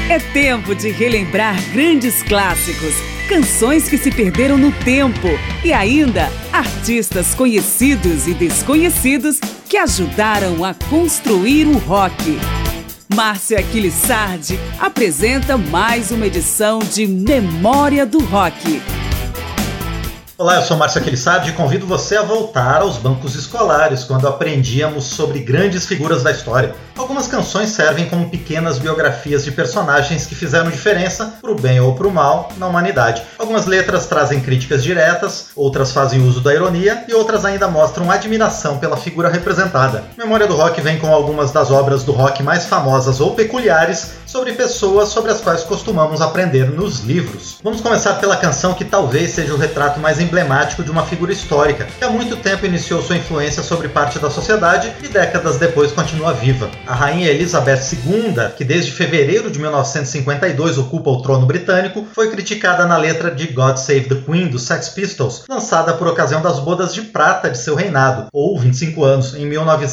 É tempo de relembrar grandes clássicos, canções que se perderam no tempo e ainda artistas conhecidos e desconhecidos que ajudaram a construir o rock. Márcia Aquilissardi apresenta mais uma edição de Memória do Rock. Olá, eu sou Márcia Aquilissardi e convido você a voltar aos bancos escolares quando aprendíamos sobre grandes figuras da história. Algumas canções servem como pequenas biografias de personagens que fizeram diferença, pro bem ou pro mal, na humanidade. Algumas letras trazem críticas diretas, outras fazem uso da ironia e outras ainda mostram admiração pela figura representada. Memória do Rock vem com algumas das obras do rock mais famosas ou peculiares sobre pessoas sobre as quais costumamos aprender nos livros. Vamos começar pela canção que talvez seja o retrato mais emblemático de uma figura histórica, que há muito tempo iniciou sua influência sobre parte da sociedade e décadas depois continua viva. A rainha Elizabeth II, que desde fevereiro de 1952 ocupa o trono britânico, foi criticada na letra de God Save the Queen, dos Sex Pistols, lançada por ocasião das bodas de prata de seu reinado, ou 25 anos, em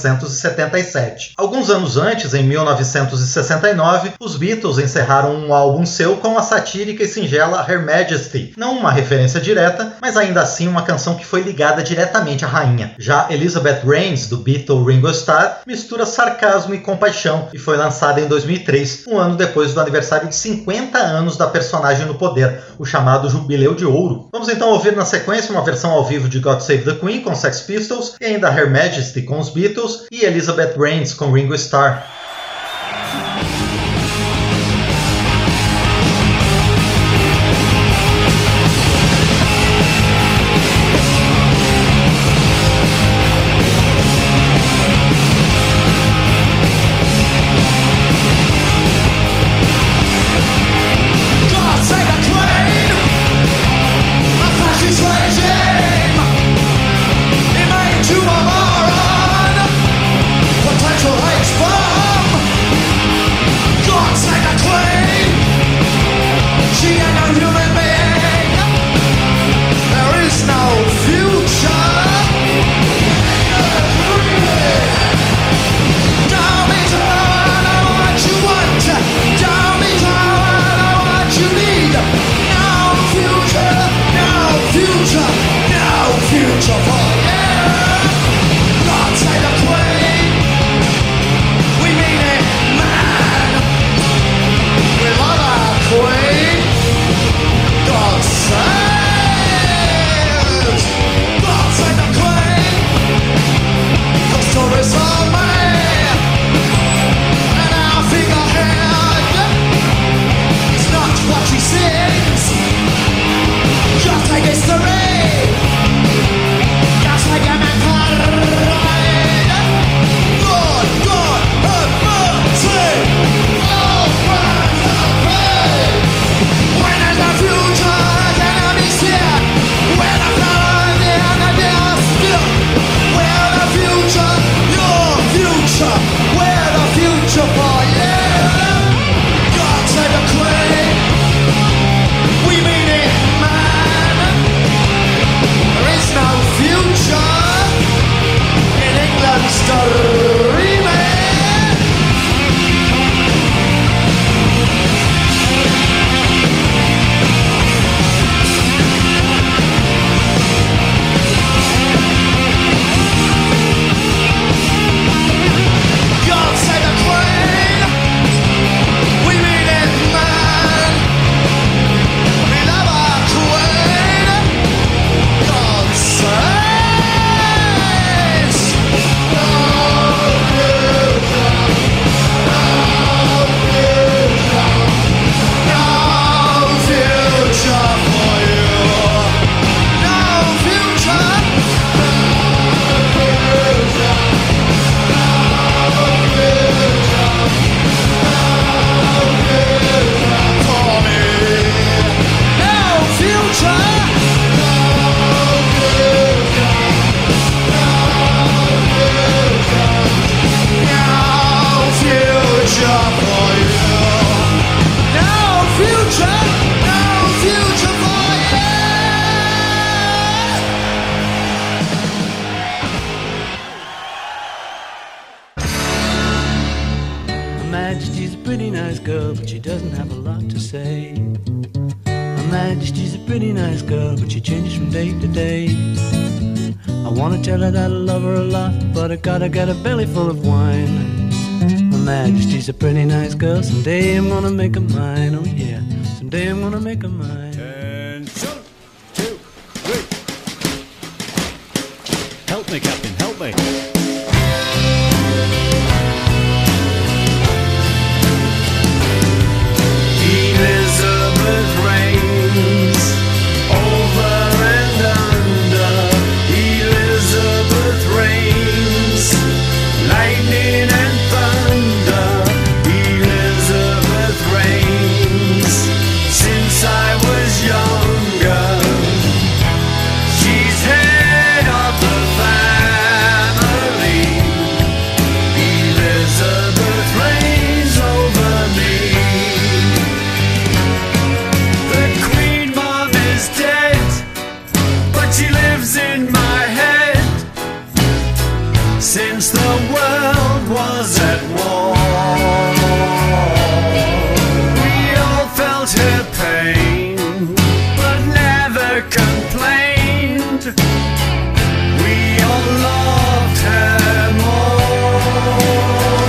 1977. Alguns anos antes, em 1969, os Beatles encerraram um álbum seu com a satírica e singela Her Majesty, não uma referência direta, mas ainda assim uma canção que foi ligada diretamente à rainha. Já Elizabeth Reigns, do Beatle Ringo Starr, mistura sarcasmo e compaixão e foi lançada em 2003, um ano depois do aniversário de 50 anos da personagem no poder, o chamado Jubileu de Ouro. Vamos então ouvir na sequência uma versão ao vivo de God Save the Queen com Sex Pistols e ainda Her Majesty com os Beatles e Elizabeth Reigns com Ringo Starr. Potential hate bomb. Majesty's a pretty nice girl, but she doesn't have a lot to say. Her Majesty's a pretty nice girl, but she changes from day to day. I wanna tell her that I love her a lot, but I gotta get a belly full of wine. Her Majesty's a pretty nice girl, someday I'm gonna make her mine, oh yeah, someday I'm gonna make her mine. Attention! 2, 3. Help me, Captain, help me. Elizabeth reigns over and under. Elizabeth reigns, lightning and thunder. Elizabeth reigns since I was younger. She's head of the family. Elizabeth reigns over me. She lives in my head since the world was at war. We all felt her pain, but never complained. We all loved her more.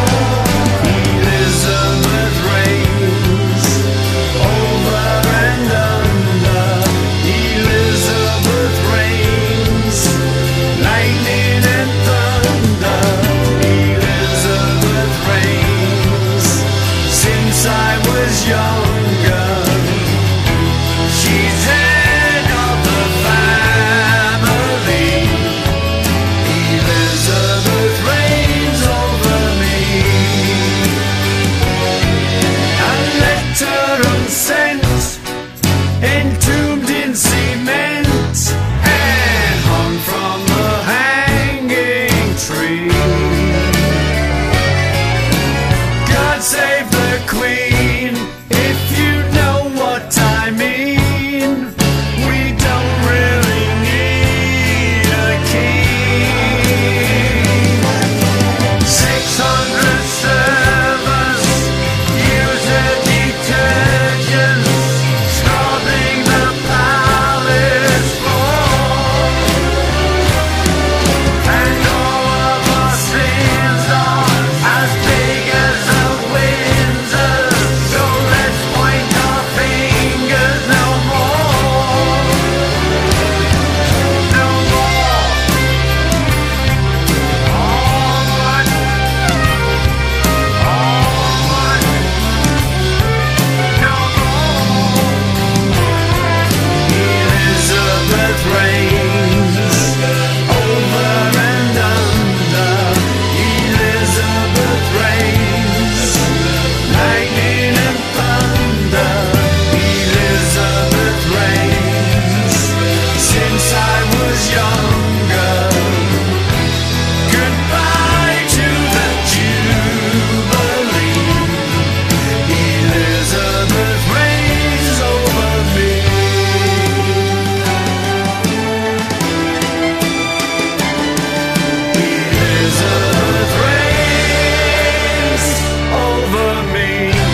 Elizabeth reigns over and under. Elizabeth reigns, lightning and thunder. Elizabeth reigns since I was younger. She's head of the family. Elizabeth reigns over me. A letter unsent, entombed in cement, and hung from the hanging tree. God save the Queen, if you know what I mean. We don't really need a king. 600 servers use her detergents, scrubbing the palace floor. And all of our sins are as big as the Windsors, so let's point our fingers no more. No more. All one. All one. No more. Elizabeth reigns over and under. Elizabeth reigns, lightning and thunder. Elizabeth reigns since I was younger. Goodbye to the Jubilee. Elizabeth reigns over me. Elizabeth reigns over me.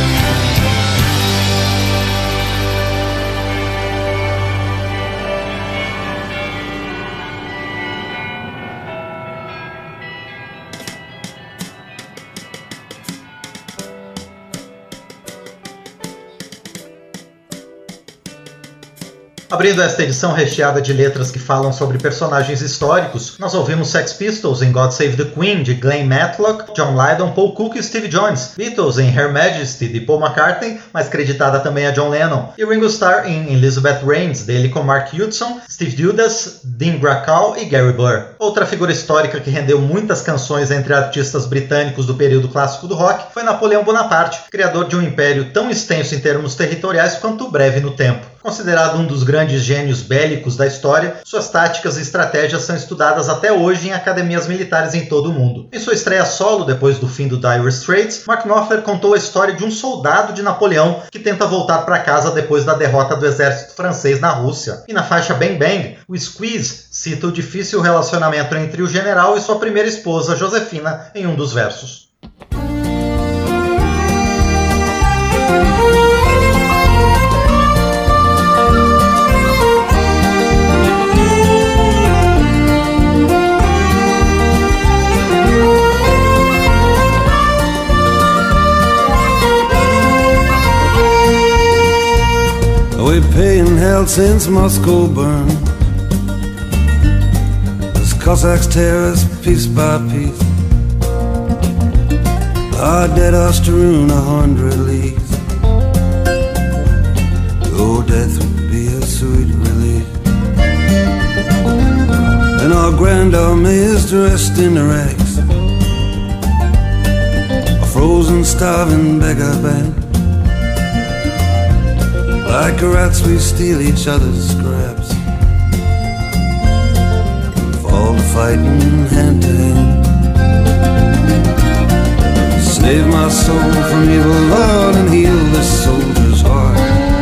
Abrindo esta edição recheada de letras que falam sobre personagens históricos, nós ouvimos Sex Pistols em God Save the Queen, de Glenn Matlock, John Lydon, Paul Cook e Steve Jones, Beatles em Her Majesty, de Paul McCartney, mas creditada também a John Lennon, e Ringo Starr em Elizabeth Reigns, dele com Mark Hudson, Steve Dudas, Dean Gracall e Gary Burr. Outra figura histórica que rendeu muitas canções entre artistas britânicos do período clássico do rock foi Napoleão Bonaparte, criador de um império tão extenso em termos territoriais quanto breve no tempo. Considerado um dos grandes gênios bélicos da história, suas táticas e estratégias são estudadas até hoje em academias militares em todo o mundo. Em sua estreia solo, depois do fim do Dire Straits, Mark Knopfler contou a história de um soldado de Napoleão que tenta voltar para casa depois da derrota do exército francês na Rússia. E na faixa Bang Bang, o Squeeze cita o difícil relacionamento entre o general e sua primeira esposa, Josefina, em um dos versos. We paying hell since Moscow burned, as Cossacks tear us piece by piece. Our dead are strewn 100 leagues. Oh, death would be a sweet relief. And our grand army is dressed in rags, a frozen, starving beggar band. Like rats we steal each other's scraps, fall to fighting hand to hand. Save my soul from evil, Lord, and heal this soldier's heart.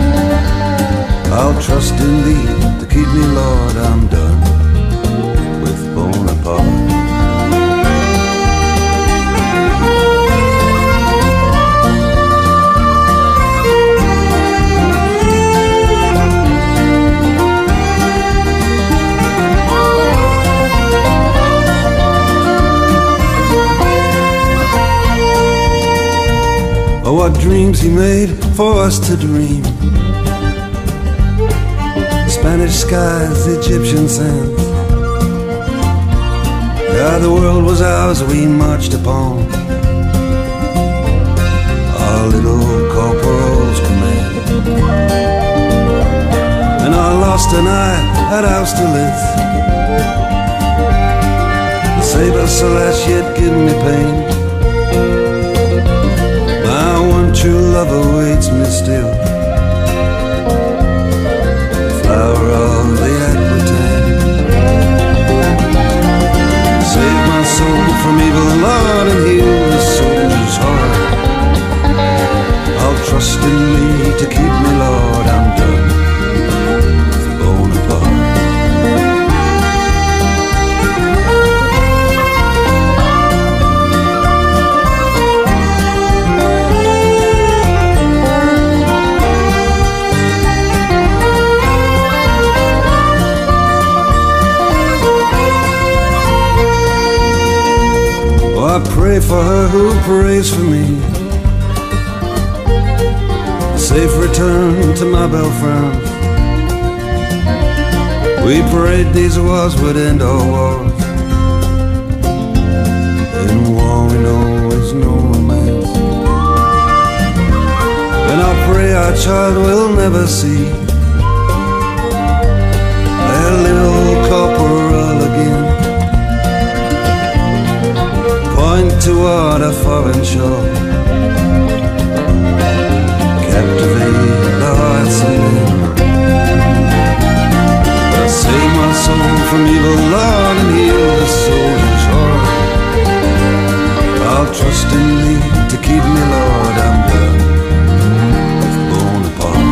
I'll trust in thee to keep me, Lord. I'm done with Bonaparte. Oh, what dreams he made for us to dream. Spanish skies, Egyptian sands. Yeah, the world was ours, we marched upon our little corporal's command. And I lost an eye at Austerlitz. The saber slash yet give me pain. My one true love awaits me still, flower of the Aquitaine. Save my soul from evil, Lord, and heal the soldier's heart. I'll trust in thee to keep me, Lord. I'm done with Bonaparte. I pray for her who prays for me, a safe return to my Belfrance. We prayed these wars would end all wars. In war we know is no romance. And I pray our child will never see their little corporal again. Point toward a foreign shore, captivate the hearts of men. Save my soul from evil, Lord, and heal the soldier's heart. I'll trust in thee to keep me, Lord. I'm done with Bonaparte.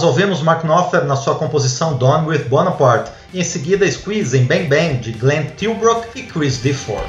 ouvimos Mark Knopfler na sua composição Done with Bonaparte, e em seguida Squeeze em Bang Bang, de Glenn Tilbrook e Chris Difford.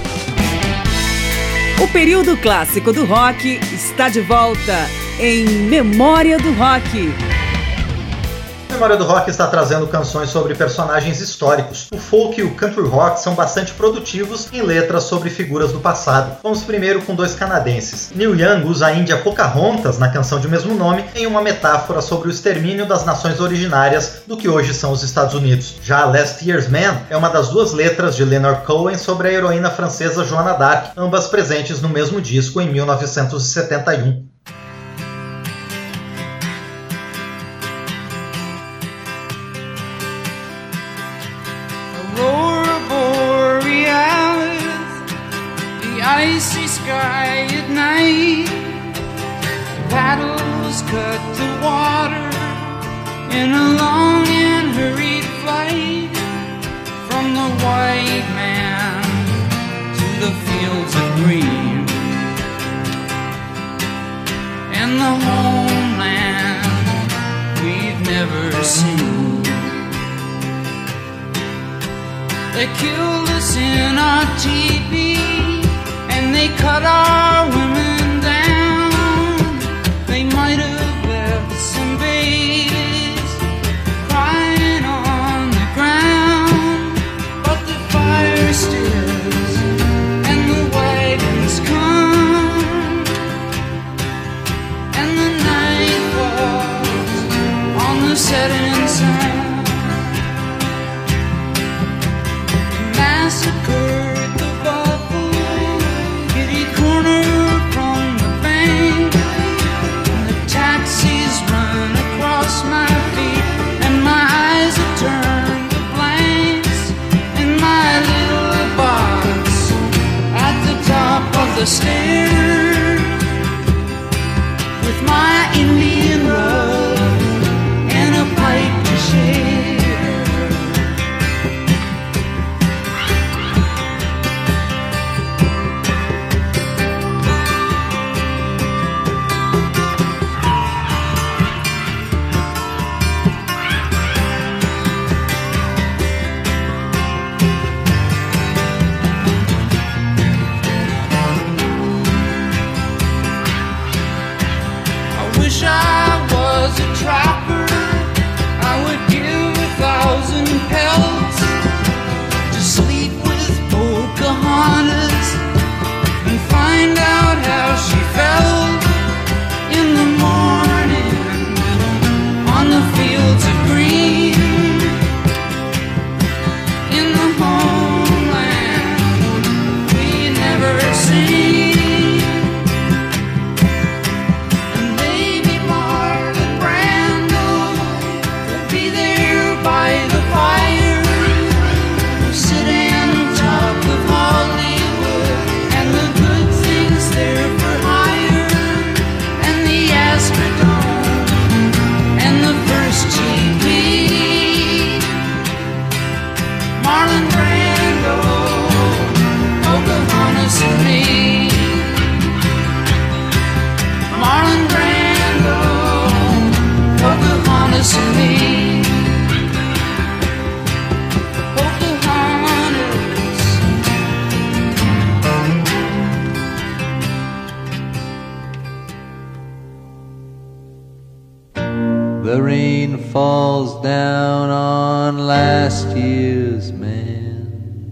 O período clássico do rock está de volta em Memória do Rock. Memória do Rock está trazendo canções sobre personagens históricos. O folk e o country rock são bastante produtivos em letras sobre figuras do passado. Vamos primeiro com dois canadenses. Neil Young usa a Índia Pocahontas na canção de mesmo nome em uma metáfora sobre o extermínio das nações originárias do que hoje são os Estados Unidos. Já Last Year's Man é uma das duas letras de Leonard Cohen sobre a heroína francesa Joana d'Arc, ambas presentes no mesmo disco em 1971. Icy sky at night, paddles cut the water in a long and hurried flight from the white man to the fields of green and the homeland we've never seen. They killed us in our teepee and they cut our women down. They might have left some babies crying on the ground, but the fire stills and the wagons come and the night falls on the setting sun. Massacre my feet and my eyes have turned to blanks in my little box at the top of the stairs with my Indian rug and a pipe to share. The rain falls down on last year's man.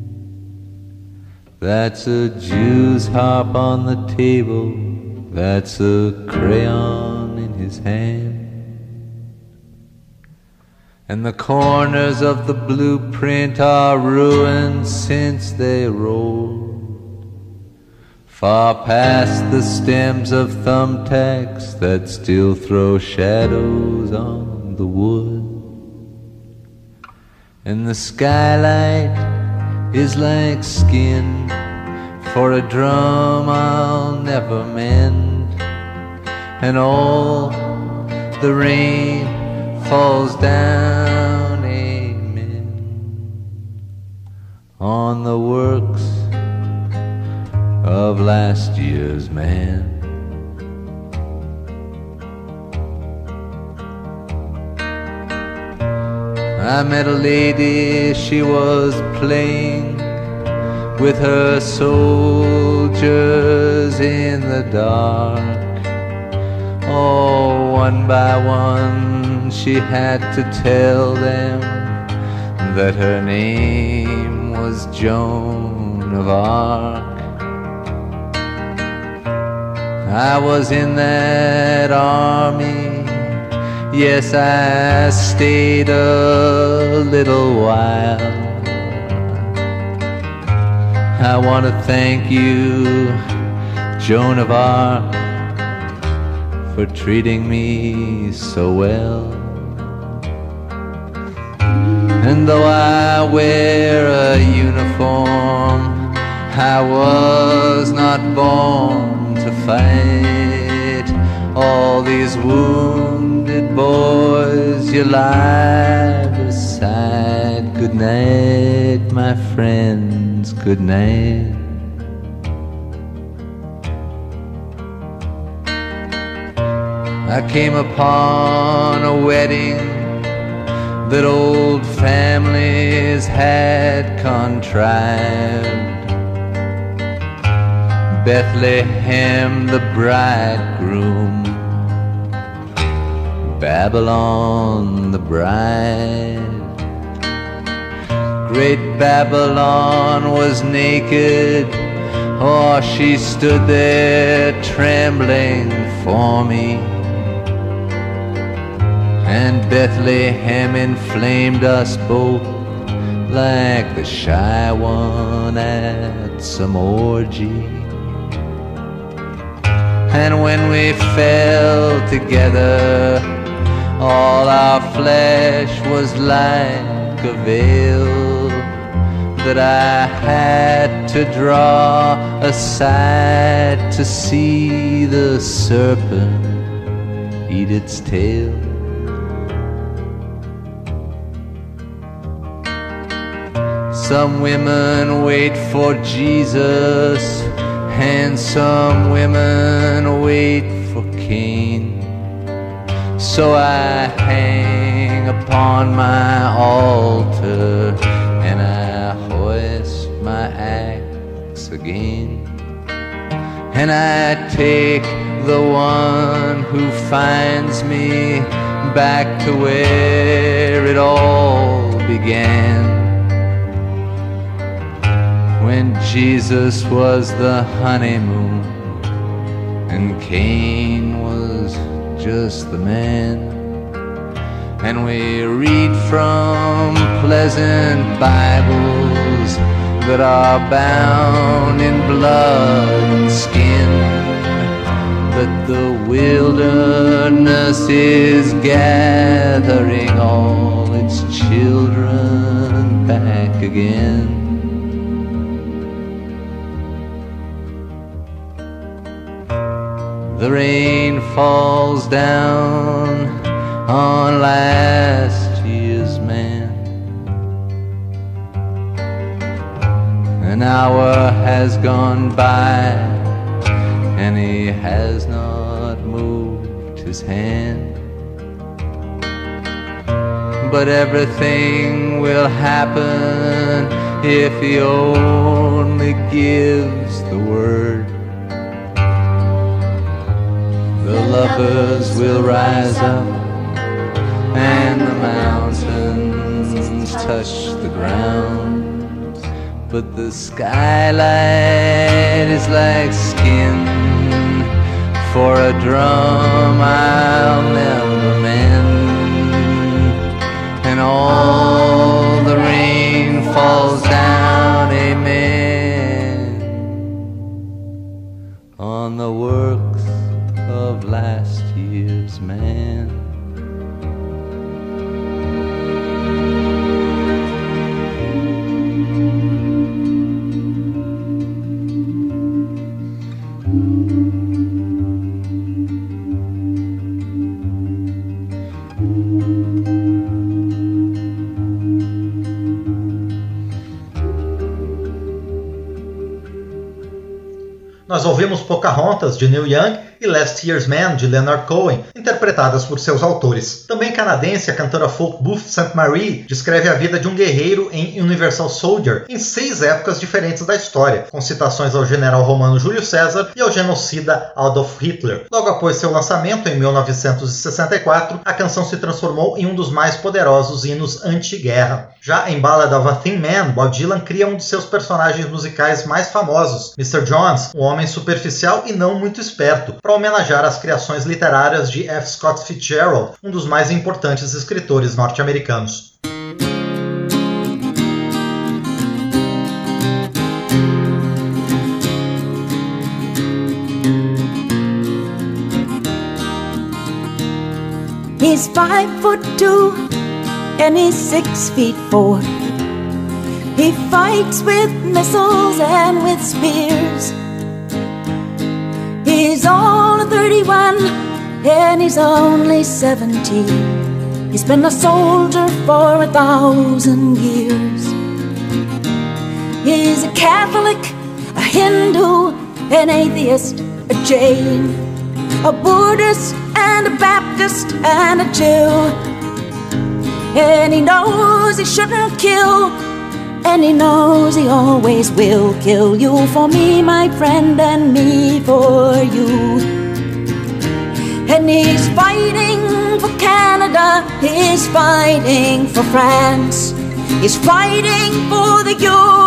That's a Jew's harp on the table. That's a crayon in his hand. And the corners of the blueprint are ruined since they rolled far past the stems of thumbtacks that still throw shadows on the wood. And the skylight is like skin for a drum I'll never mend. And all the rain falls down, amen, on the works of last year's man. I met a lady, she was playing with her soldiers in the dark. Oh, one by one she had to tell them that her name was Joan of Arc. I was in that army, yes, I stayed a little while. I want to thank you, Joan of Arc, for treating me so well. And though I wear a uniform, I was not born to fight. All these wounded boys you lie beside. Good night, my friends, good night. I came upon a wedding that old families had contrived. Bethlehem the bridegroom, Babylon the bride. Great Babylon was naked, oh, she stood there trembling for me. And Bethlehem inflamed us both like the shy one at some orgy. And when we fell together, all our flesh was like a veil that I had to draw aside to see the serpent eat its tail. Some women wait for Jesus, and some women wait for Cain. So I hang upon my altar, and I hoist my axe again. And I take the one who finds me back to where it all began. When Jesus was the honeymoon and Cain was just the man. And we read from pleasant Bibles that are bound in blood and skin, that the wilderness is gathering all its children back again. The rain falls down on last year's man. An hour has gone by and he has not moved his hand. But everything will happen if he only gives the word. The lovers will rise up and the mountains touch the ground, but the skylight is like skin for a drum I'll never mend. And all the rain falls down, amen, on the works of last year's man. Nós ouvimos Pocahontas, de Neil Young, e Last Year's Man, de Leonard Cohen, interpretadas por seus autores. Também canadense, a cantora folk Booth St. Marie descreve a vida de um guerreiro em Universal Soldier em 6 épocas diferentes da história, com citações ao general romano Júlio César e ao genocida Adolf Hitler. Logo após seu lançamento, em 1964, a canção se transformou em um dos mais poderosos hinos anti-guerra. Já em Ballad of a Thin Man, Bob Dylan cria um de seus personagens musicais mais famosos, Mr. Jones, um homem superficial e não muito esperto, para homenagear as criações literárias de F. Scott Fitzgerald, um dos mais importantes escritores norte-americanos. He's 5'2" and he's 6'4". He fights with missiles and with spears. He's all 31 and he's only 17. He's been a soldier for 1,000 years. He's a Catholic, a Hindu, an atheist, a Jain, a Buddhist and a Baptist and a Jew. And he knows he shouldn't kill, and he knows he always will kill. You for me, my friend, and me for you. And he's fighting for Canada, he's fighting for France, he's fighting for the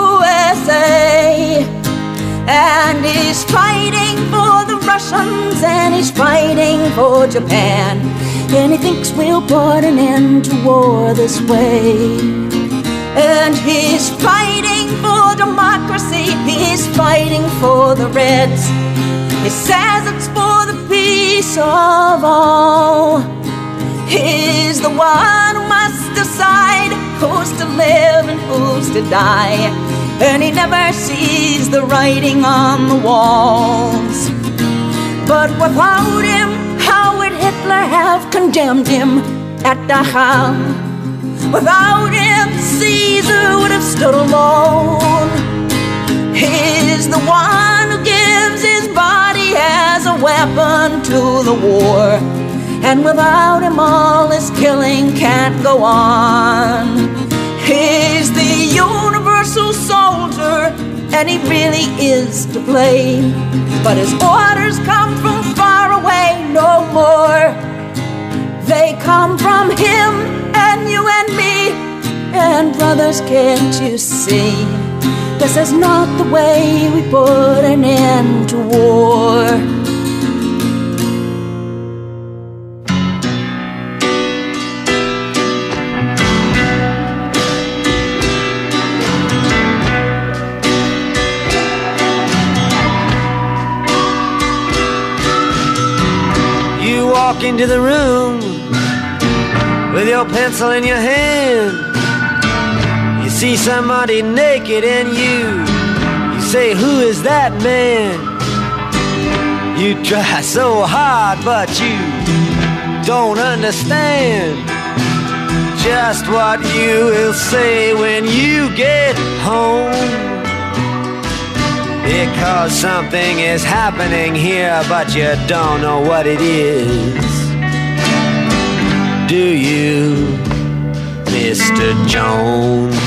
USA. And he's fighting for the Russians, and he's fighting for Japan. And he thinks we'll put an end to war this way. And he's fighting for democracy, he's fighting for the Reds. He says it's for the peace of all. He's the one who must decide who's to live and who's to die. And he never sees the writing on the walls. But without him, how would Hitler have condemned him at Dachau? Without him, Caesar would have stood alone. He's the one who gives his body as a weapon to the war. And without him, all this killing can't go on. He's the universal soldier, and he really is to blame. But his orders come from far away no more. They come from him and you and me. And brothers, can't you see? This is not the way we put an end to war. Walk into the room with your pencil in your hand. You see somebody naked and you say, who is that man? You try so hard but you don't understand just what you will say when you get home. Because something is happening here, but you don't know what it is. Do you, Mr. Jones?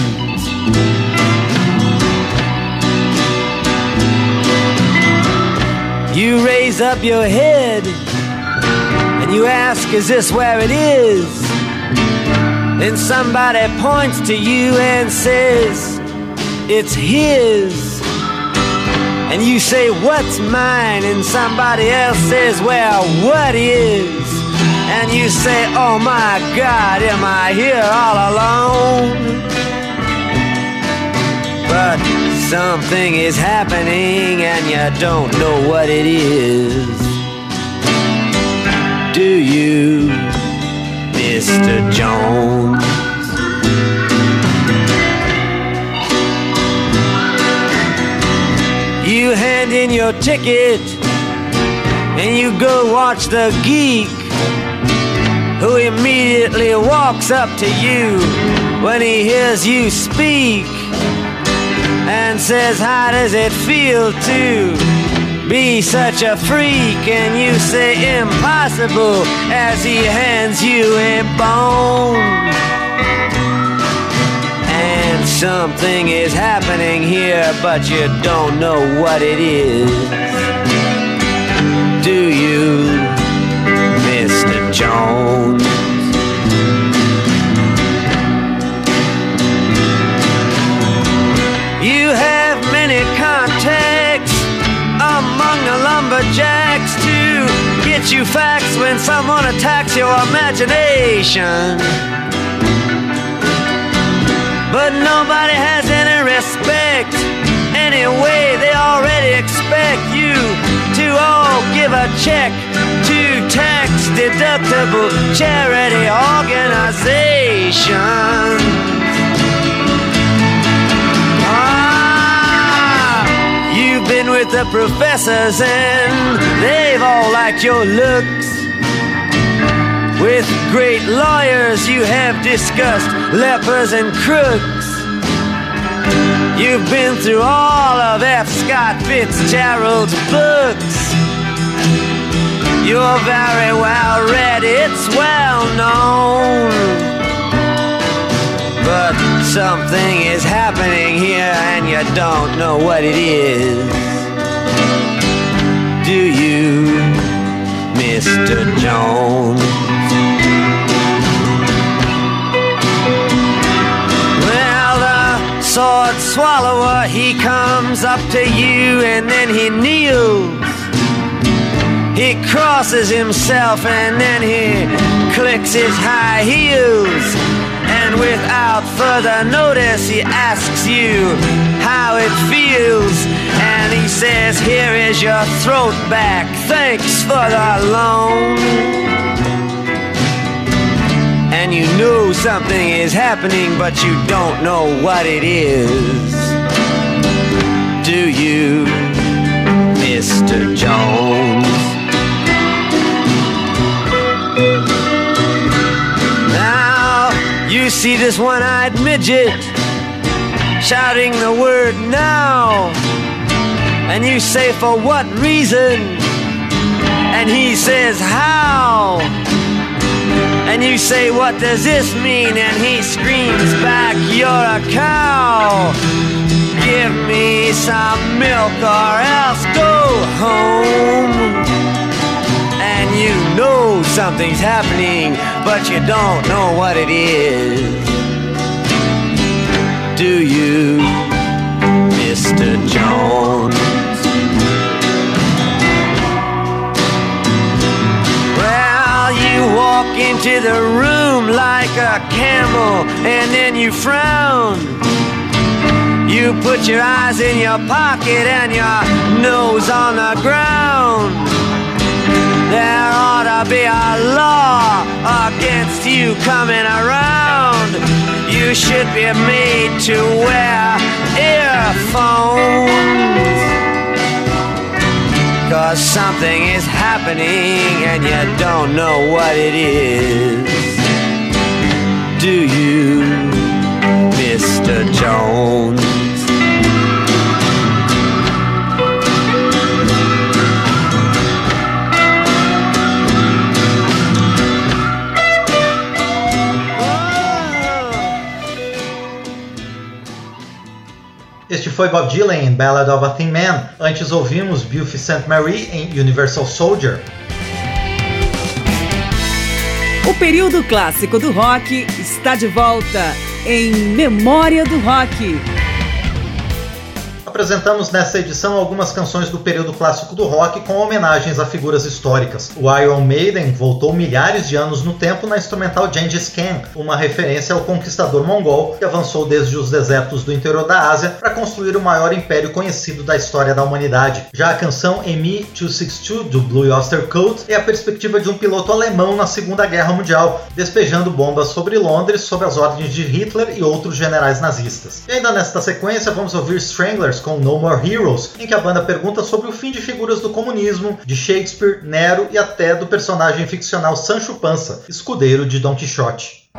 You raise up your head and you ask, is this where it is? Then somebody points to you and says, it's his. And you say, what's mine? And somebody else says, well, what is? And you say, oh my God, am I here all alone? But something is happening and you don't know what it is. Do you, Mr. Jones? You hand in your ticket and you go watch the geek, who immediately walks up to you when he hears you speak and says, how does it feel to be such a freak, and you say impossible as he hands you a bone. And something is happening here, but you don't know what it is. Do you, Mr. Jones? You have many contacts among the lumberjacks to get you facts when someone attacks your imagination. But nobody has any respect. Anyway, they already expect you to all give a check to tax-deductible charity organization. You've been with the professors and they've all liked your looks. With great lawyers you have discussed lepers and crooks. You've been through all of F. Scott Fitzgerald's books. You're very well read, it's well known. But something is happening here and you don't know what it is. Do you, Mr. Jones? Well, the sword swallower, he comes up to you and then he kneels. He crosses himself and then he clicks his high heels. And without further notice, he asks you how it feels. And he says, here is your throat back, thanks for the loan. And you know something is happening, but you don't know what it is. Do you, Mr. Jones? You see this one-eyed midget shouting the word now, and you say, for what reason? And he says, how? And you say, what does this mean? And he screams back, you're a cow. Give me some milk or else go home. And you know something's happening, but you don't know what it is. Do you, Mr. Jones? Well, you walk into the room like a camel, and then you frown. You put your eyes in your pocket and your nose on the ground. There ought to be a law against you coming around. You should be made to wear earphones. 'Cause something is happening and you don't know what it is. Do you, Mr. Jones? Este foi Bob Dylan em Ballad of a Thin Man. Antes ouvimos Buffy Sainte-Marie em Universal Soldier. O período clássico do rock está de volta em Memória do Rock. Apresentamos nessa edição algumas canções do período clássico do rock com homenagens a figuras históricas. O Iron Maiden voltou milhares de anos no tempo na instrumental Gengis Khan, uma referência ao conquistador mongol que avançou desde os desertos do interior da Ásia para construir o maior império conhecido da história da humanidade. Já a canção Me-262 do Blue Oyster Cult é a perspectiva de um piloto alemão na Segunda Guerra Mundial, despejando bombas sobre Londres sob as ordens de Hitler e outros generais nazistas. E ainda nesta sequência vamos ouvir Stranglers com No More Heroes, em que a banda pergunta sobre o fim de figuras do comunismo, de Shakespeare, Nero e até do personagem ficcional Sancho Panza, escudeiro de Don Quixote.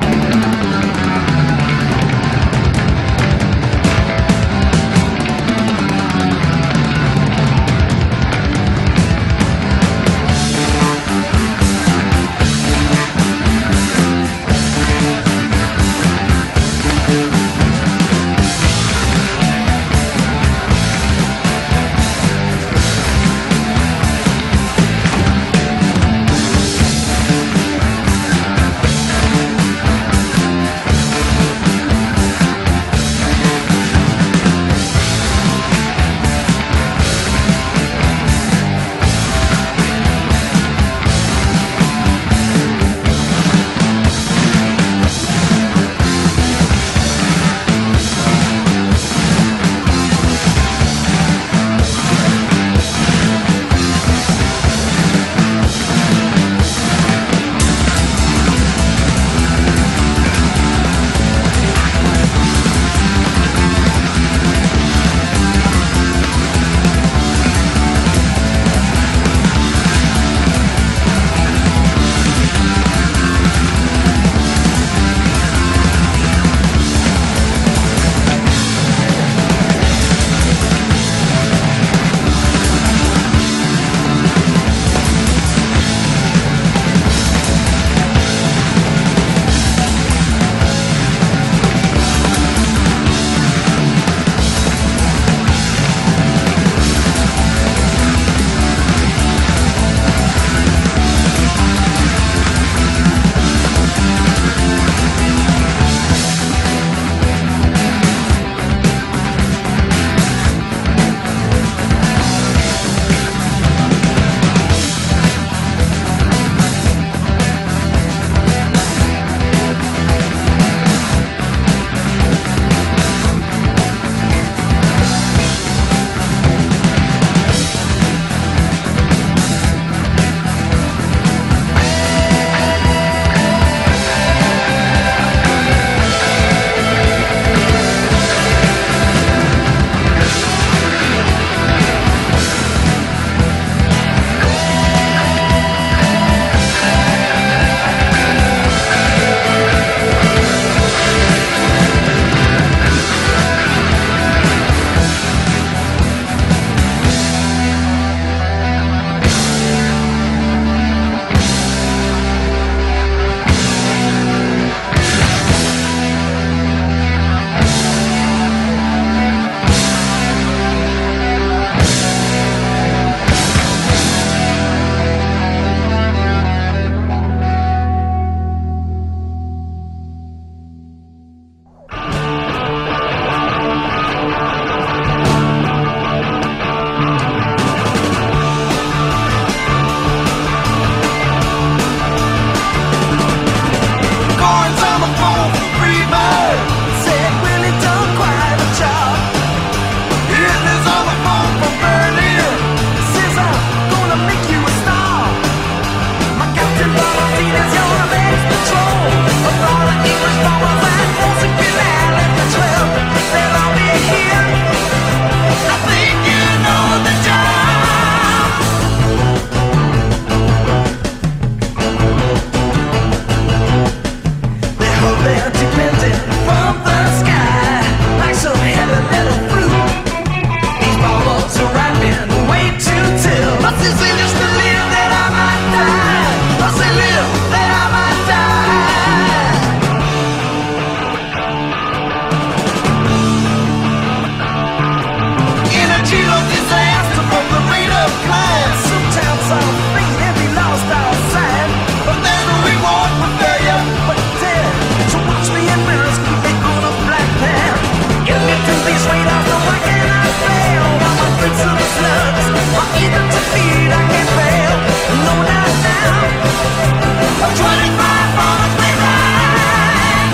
speed, I can't fail. No, not now. 25 miles may ride.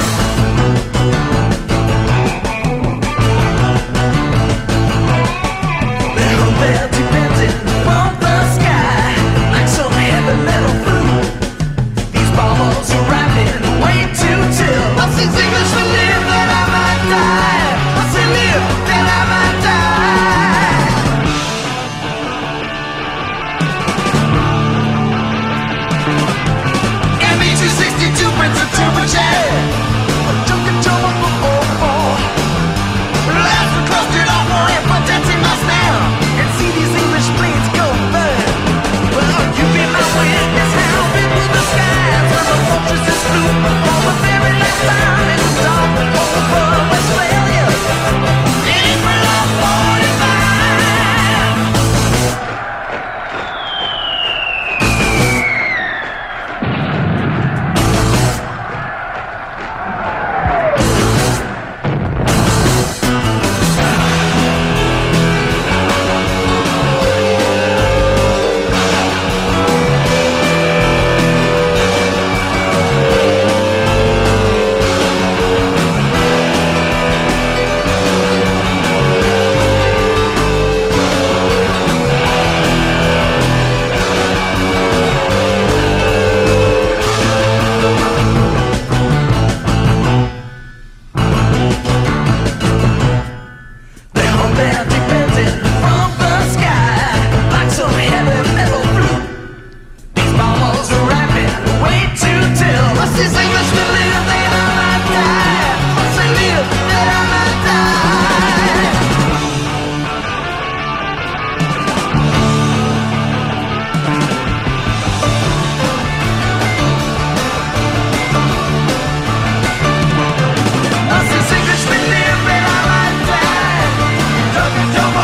They're dependent on the sky like some heavy metal flute. These bombs are rapping way too till. I see English to live that I might die. I say live that I might die. ME-262 brings a turbocharge. Junkin' trouble for 4-4. Last one clustered off for it, but that's in my snare. And see these English planes go burn. Well, you be my witness how big will the skies when the fortresses flew for the very last time. It was all over Westphalia. April of 45. Don't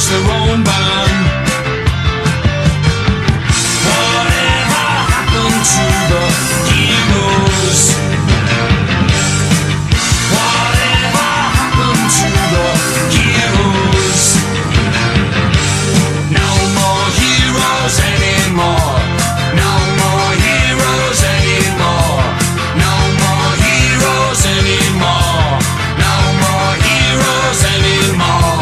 each their own band. Whatever happened to the heroes? Whatever happened to the heroes? No more heroes anymore. No more heroes anymore. No more heroes anymore. No more heroes anymore.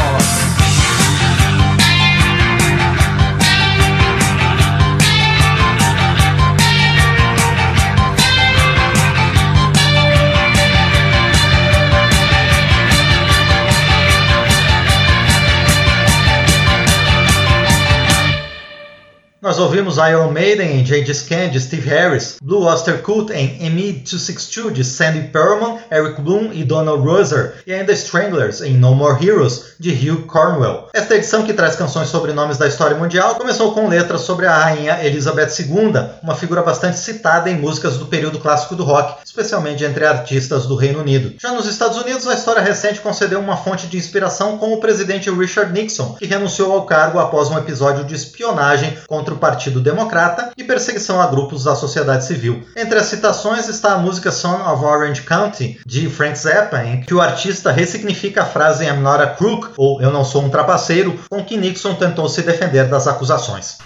Nós ouvimos Iron Maiden em Gengis Khan, de Steve Harris, Blue Oyster Cult em ME-262, de Sandy Pearlman, Eric Bloom e Donald Roser, e ainda Stranglers em No More Heroes, de Hugh Cornwell. Esta edição, que traz canções sobre nomes da história mundial, começou com letras sobre a rainha Elizabeth II, uma figura bastante citada em músicas do período clássico do rock, especialmente entre artistas do Reino Unido. Já nos Estados Unidos, a história recente concedeu uma fonte de inspiração com o presidente Richard Nixon, que renunciou ao cargo após um episódio de espionagem contra o Partido Democrata e perseguição a grupos da sociedade civil. Entre as citações está a música Son of Orange County, de Frank Zappa, em que o artista ressignifica a frase I'm not a crook, ou eu não sou um trapaceiro, com que Nixon tentou se defender das acusações.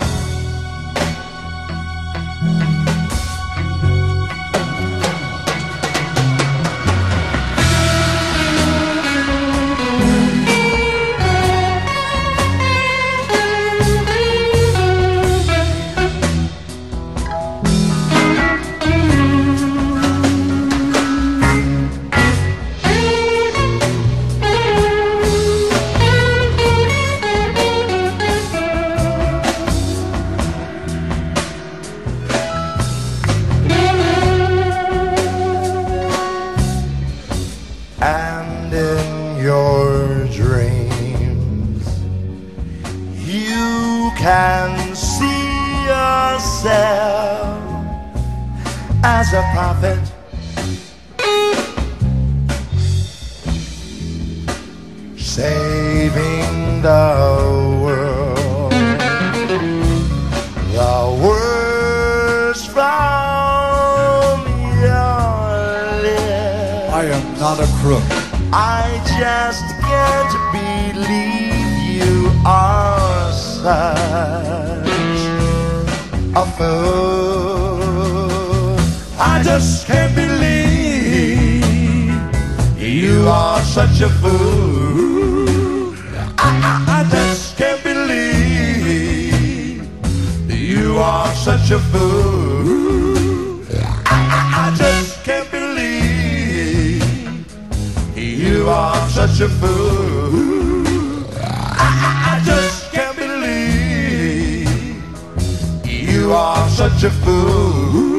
As a prophet, saving the world, the words from your lips. I am not a crook. I just can't believe you are such a fool. I just can't believe you are such a fool. I just can't believe you are such a fool. I just can't believe you are such a fool. I just can't believe you are such a fool.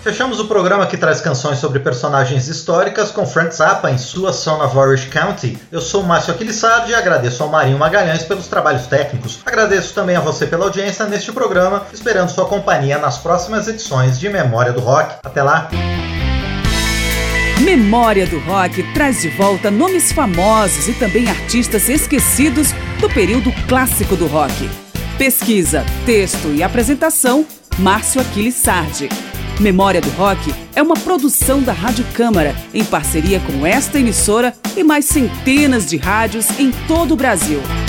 Fechamos o programa que traz canções sobre personagens históricas com Frank Zappa em sua Son of Orange County. Eu sou o Márcio Aquilissardi e agradeço ao Marinho Magalhães pelos trabalhos técnicos. Agradeço também a você pela audiência neste programa, esperando sua companhia nas próximas edições de Memória do Rock. Até lá! Memória do Rock traz de volta nomes famosos e também artistas esquecidos do período clássico do rock. Pesquisa, texto e apresentação, Márcio Aquilissardi. Memória do Rock é uma produção da Rádio Câmara, em parceria com esta emissora e mais centenas de rádios em todo o Brasil.